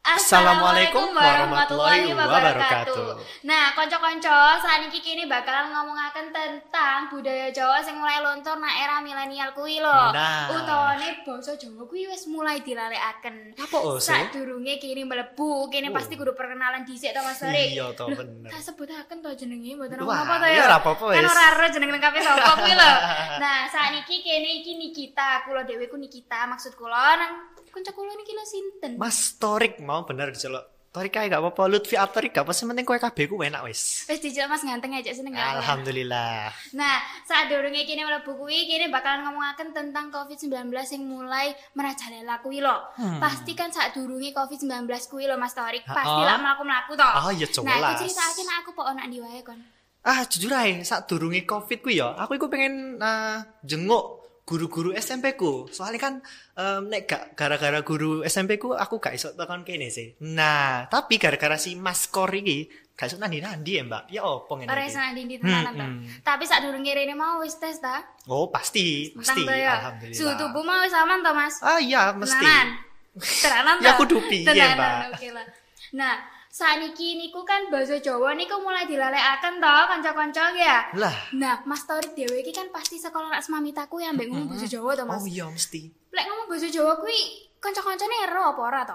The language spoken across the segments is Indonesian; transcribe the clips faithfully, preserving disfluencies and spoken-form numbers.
Assalamualaikum warahmatullahi wabarakatuh. Nah, konco-konco, saat ini kini bakalan ngomongaken tentang budaya Jawa sing mulai lontor nang era milenial kuwi lho. Nah. Utawane basa Jawa kuwi wis mulai dilalekaken. Apa oh sih? Sadurunge kini mlebu, kini Oh. pasti kudu perkenalan dhisik to Mas Torik. Iya to bener. Tak sebutaken to jenenge mboten Wah, apa-apa to iya ya. ora apa-apa Kan wis. ora ero jeneng lengkape sapa kuwi lho. Nah, saat ini kene iki Nikita, kula dhewe ku Nikita, maksud kula nang kanca kula niki lho sinten? Mas Torik mau bener diceluk. Torik kae gak apa-apa, Lutfi Atorik gak apa penting kowe kabeh ku enak wis. Wis dijel Mas ganteng aja seneng gak? Alhamdulillah. Nah, saat durunge kini mlebu kuwi kini bakalan ngomongaken tentang covid sembilan belas yang mulai merajalela kuwi lho. Hmm. Pasti kan saat durunge covid sembilan belas kuwi lho Mas Torik, Ha-ha. pasti lak mlaku-mlaku to. Ah, iya, Nah, aku jelas. critakake nek aku pok ana ndi wae kon. Ah, jujur ae, sak durunge Covid kuwi ya, aku iku pengen uh, jenguk guru-guru S M P ku. Soalnya kan um, nek gak gara-gara guru S M P ku aku gak iso tekan kene sih. Nah, tapi gara-gara si Mas Kor iki gak iso nandi-nandi ya, Mbak. Ya opo ngene Ora iki? iso ndi tenanan to. Hmm, hmm. Tapi saat durunge rene mau wis tes ta? Oh, pasti, pasti. Tentang to ya. Alhamdulillah. Suhu tubuh mau wis aman to, Mas? Ah iya, mesti. Tenanan. Tenanan to. Ya, kudu piye, Tenanan, Mbak? Oke lah. Nah, saniki niku kan basa Jawa niku mulai dilalekaken to kanca-kanca ya. Lah. Nah, Mas Torik dhewe iki kan pasti sekolah rak semamitaku ya mbek ngomong basa Jawa to, Mas. Oh iya, mesti. Lek ngomong basa Jawa kuwi kanca-kancane ero apa ora to?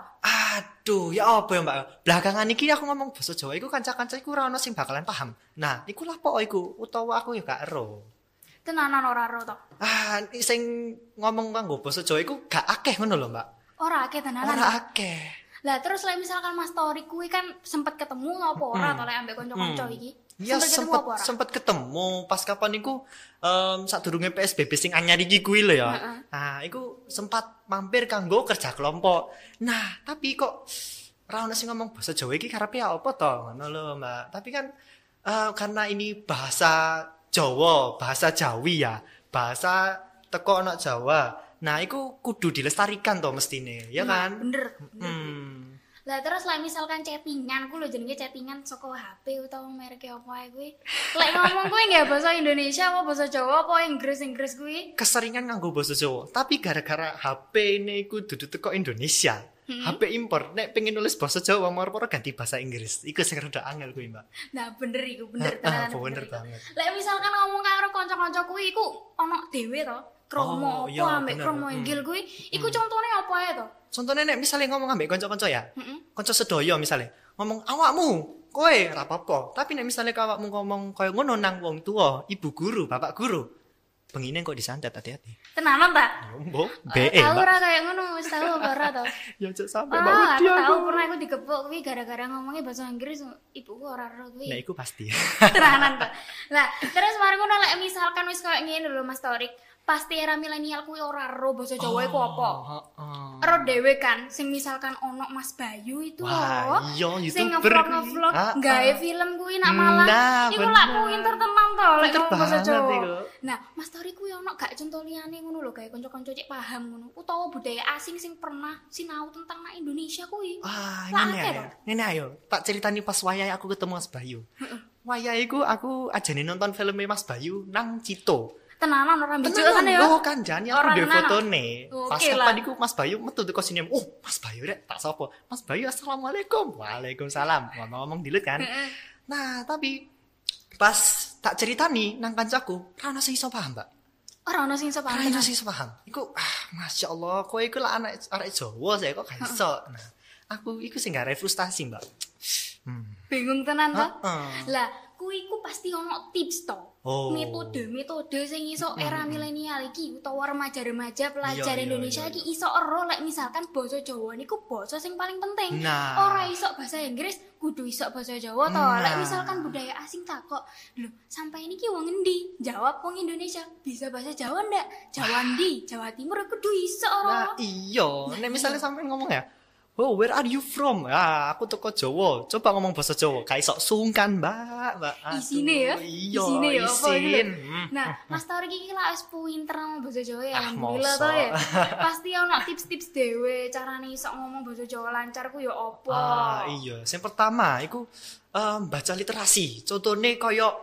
Aduh, ya apa ya, Mbak? Belakangan iki aku ngomong basa Jawa iku kanca-kanca iku ora ono sing bakalan paham. Nah, iku lah apa iku? Utawa aku ya gak ero. Tenanan ora ero to. Ah, sing ngomong kanggo basa Jawa iku gak akeh ngono lho, Mbak. Ora akeh tenanan. Ora akeh. Lah terus lek misalkan Mas Torik kuwi kan sempet ketemu apa ora to lek ambek kanca-kanca iki? Ya Sempet ketemu sempet apa ora? sempet ketemu pas kapan iku um, sadurunge P S B B sing anyar iki kuwi lho ya. Heeh. Nah, iku sempat mampir kanggo kerja kelompok. Nah, tapi kok ora ono sing ngomong basa Jawa iki karepe apa to? Ngono lho, Mbak. Tapi kan eh, karena ini bahasa Jawa, bahasa Jawi ya, bahasa teko ana Jawa. Nah, iku kudu dilestarikan to mestine, ya Nah, kan? bener. bener. Hmm. Lah terus lek misalkan chattingan ku lho jenenge chattingan saka H P utawa merek apa ae kuwi. Lek ngomong kuwi nggak bahasa Indonesia apa bahasa Jawa apa Inggris-Inggris kuwi? Keseringan nganggo basa Jawa, tapi gara-gara H P ini iku dudu teko Indonesia. H P impor, nek pengen nulis basa Jawa moro-moro ganti bahasa Inggris. Iku sing rada angel kuwi, Mbak. Nah, bener iku, bener Ah, tenan. bener banget. Lek misalkan ngomong karo kanca-kanca kuwi iku ana dhewe to. Oh, Kromo iya, apa ambek bener. kromo Hmm. inggil kuwi iku contone apa ae to? Contohnya nek misalnya ngomong ambek kanca-kanca ya. Heeh. Kanca sedoyo misalnya, ngomong awakmu, kowe ora apa-apa. Tapi nek misalnya awakmu ngomong koyo ngono nang wong tua, ibu guru, bapak guru, bengine kok disantet hati-hati. Tenanan ta? Mbok, be e, Tahu Mbak. ora kayak ngono, wis tahu apa ora to? Ya aja sampe Mbak Ah, wedi aku tahu aku. pernah aku digepuk kuwi gara-gara ngomongnya bahasa Inggris, ibuku ora ero kuwi. Nah, iku pasti. Tenanan to. Lah, terus mari ngono lek misalkan wis koyo ngene lho Mas Torik, pasti era milenial kuwi ora ero basa Jawa iku apa? Heeh. Ero dhewe kan sing misalkan ono Mas Bayu itu Wah, loh. iya, Sing YouTuber ngevlog kuwi. ngevlog Ah, gawe ah. film kuwi nak malah. Nah, Iku lak bener. pinter tenan to lek Pinter ngomong basa banget Jawa. iku. Nah, Mas Torik kuwi ono gak contoh liyane ngono lho gawe kanca-kanca cek paham ngono utawa budaya asing sing pernah sinau tentang nak Indonesia kuwi. Wah, Lah, ngene akeh ayo. to. Ngene ayo, tak ceritani pas wayahe aku ketemu Mas Bayu. Wayahe iku aku ajane nonton filmnya Mas Bayu nang Cito. Tenanan ora mbijuk Tenan kan ya. lho kan jane aku Ora ndek tenan, fotone. Oke Pas lah. kapan iku Mas Bayu metu teko sini. Oh, Mas Bayu rek tak sapa? Mas Bayu assalamualaikum. Waalaikumsalam. Ngomong-ngomong dilut kan. Heeh. Nah, tapi pas tak ceritani nang kancaku, ora ono sing iso paham, Mbak. Ora ono sing iso Ora paham. ono sing iso paham. Iku ah, Masya Allah, kowe iku lah anak arek Jawa saya kok gak iso. Nah, aku iku sing gak frustasi, Mbak. Hmm. Bingung tenan to. Heeh. Lah, kuwi ku pasti ono tips to. Oh. Metode-metode sing iso era milenial iki utawa remaja-remaja pelajar Iya, iya, Indonesia iya, iki iso ero lek misalkan basa Jawa niku basa sing paling penting. Nah. Ora iso bahasa Inggris, kudu iso basa Jawa to. Nah. Lek misalkan budaya asing takok, "Lho, sampai niki wong endi?" Jawab wong Indonesia, "Bisa bahasa Jawa ndak?" Jawa ndi? Jawa Timur kudu iso Nah, ora. iya. Nek misalnya sampean ngomong ya, "Oh, where are you from?" Ah, aku teko Jawa. Coba ngomong bahasa Jawa. Gak iso sungkan, Mbak. Mbak. Aduh, Isine ya. Iya, Isine ya apa isin. gitu. Hmm. Nah, Mas Torik iki lah wis pinter ngomong basa Jawa ya. Ah, Alhamdulillah to mosok. ya. Pasti ono tips-tips dhewe carane iso ngomong basa Jawa lancar ku ya apa. Ah, iya. Yang pertama, iku em, baca literasi. Contohnya koyo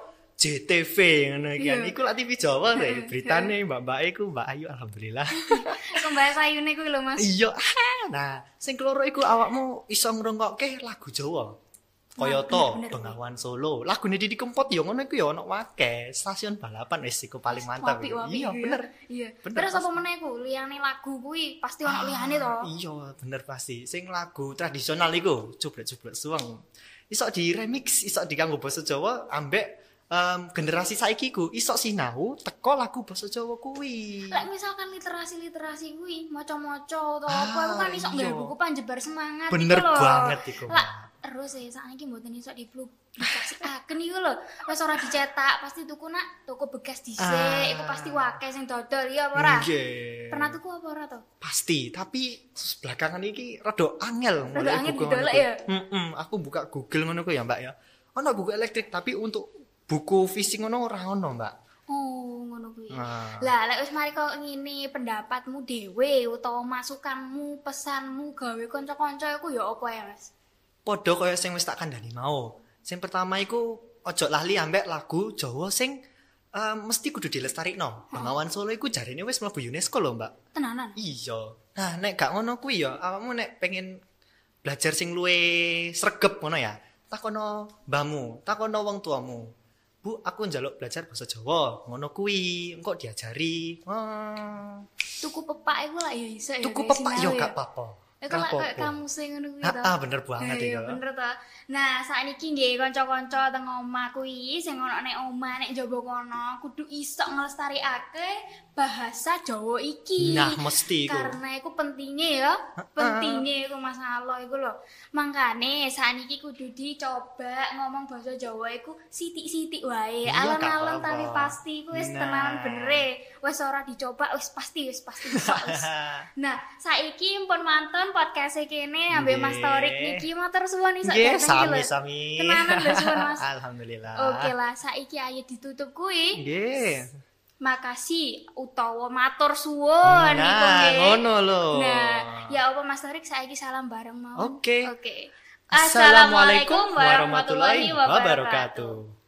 J T V ngono iki kan. Iku lak T V Jawa lho, beritane mbak-mbak iku Mbak Ayu alhamdulillah. Kembang sayune kuwi lho Mas. Iya. Nah, sing keloro iku awakmu iso ngrungokke lagu Jawa. Kaya to Bengawan Solo. Lagune Didi Kempot ya ngono iku ya ono akeh. Stasiun balapan wis iku paling mantap. Iya, bener. Iya. Terus apa meneh ku liyane lagu kuwi pasti ono liyane to. Iya, bener pasti. Sing lagu tradisional iku Jubrek-jubrek suweng. Iso di remix, iso diganggo basa Jawa ambek um, generasi saiki ku iso sinau teko lagu basa Jawa kuwi. Lek misalkan literasi-literasi kuwi maca-maca utawa apa iku kan iso nggawe buku panjebar semangat iku lho. Bener banget iku. Terus ya saiki mboten iso dipublikasikaken iku lho. Wis ora dicetak, pasti tuku nak toko bekas dhisik, ah. Iku pasti wakeh sing dodol ya apa ora? Nggih. Pernah tuku apa ora to? Pasti, tapi belakangan iki rada angel mulai angel didolek ya. Heeh, aku buka Google ngono ku ya, Mbak ya. Ono buku elektrik tapi untuk buku fisik ngono ora ono, Mbak. Oh, ngono kuwi. Nah. Lah, lek wis mari kok ngene pendapatmu dhewe utawa masukanmu, pesanmu gawe kanca-kanca iku ya apa ya, Mas? Padha kaya sing wis tak kandhani mau. Sing pertama iku ojo lali ambek lagu Jawa sing um, mesti kudu dilestarikno. Bengawan Solo iku jarine wis mlebu UNESCO lho, Mbak. Tenanan? Iya. Nah, nek gak ngono kuwi ya, awakmu nek pengen belajar sing luwih sregep ngono ya, takono mbahmu, takono wong tuamu. Bu, aku njaluk belajar basa Jawa, ngono kuwi, engko diajari. Oh. Tuku pepak iku lak ya iso ya. Tuku pepak yo gak apa-apa. Iku lak koyo kamu sing ngono kuwi to. Ah, bener banget iki. Iya, bener to. Nah, saiki nggih kanca-kanca teng omah kuwi sing ono nek omah nek njaba kono kudu iso nglestarikake bahasa Jawa iki. Nah, mesti iku. Karena iku pentingnya ya. Pentingnya iku masalah iku lho. Mangkane sakniki kudu dicoba ngomong bahasa Jawa iku sithik-sithik wae. Alon-alon tapi pasti iku wis tenanan benere. Wis ora dicoba wis pasti wis pasti bisa. Nah, saiki pun mantun podcast e kene ambek Mas Torik niki matur suwun iso dateng iki lho. Sami-sami. Tenanan lho suwun Mas. Alhamdulillah. Oke lah, saiki ayo ditutup kuwi. Nggih. Makasih utawa matur suwun niku nggih. Nah, ngono lho. Nah, ya apa Mas Torik saiki salam bareng mawon. Oke. Oke. Assalamualaikum warahmatullahi wabarakatuh.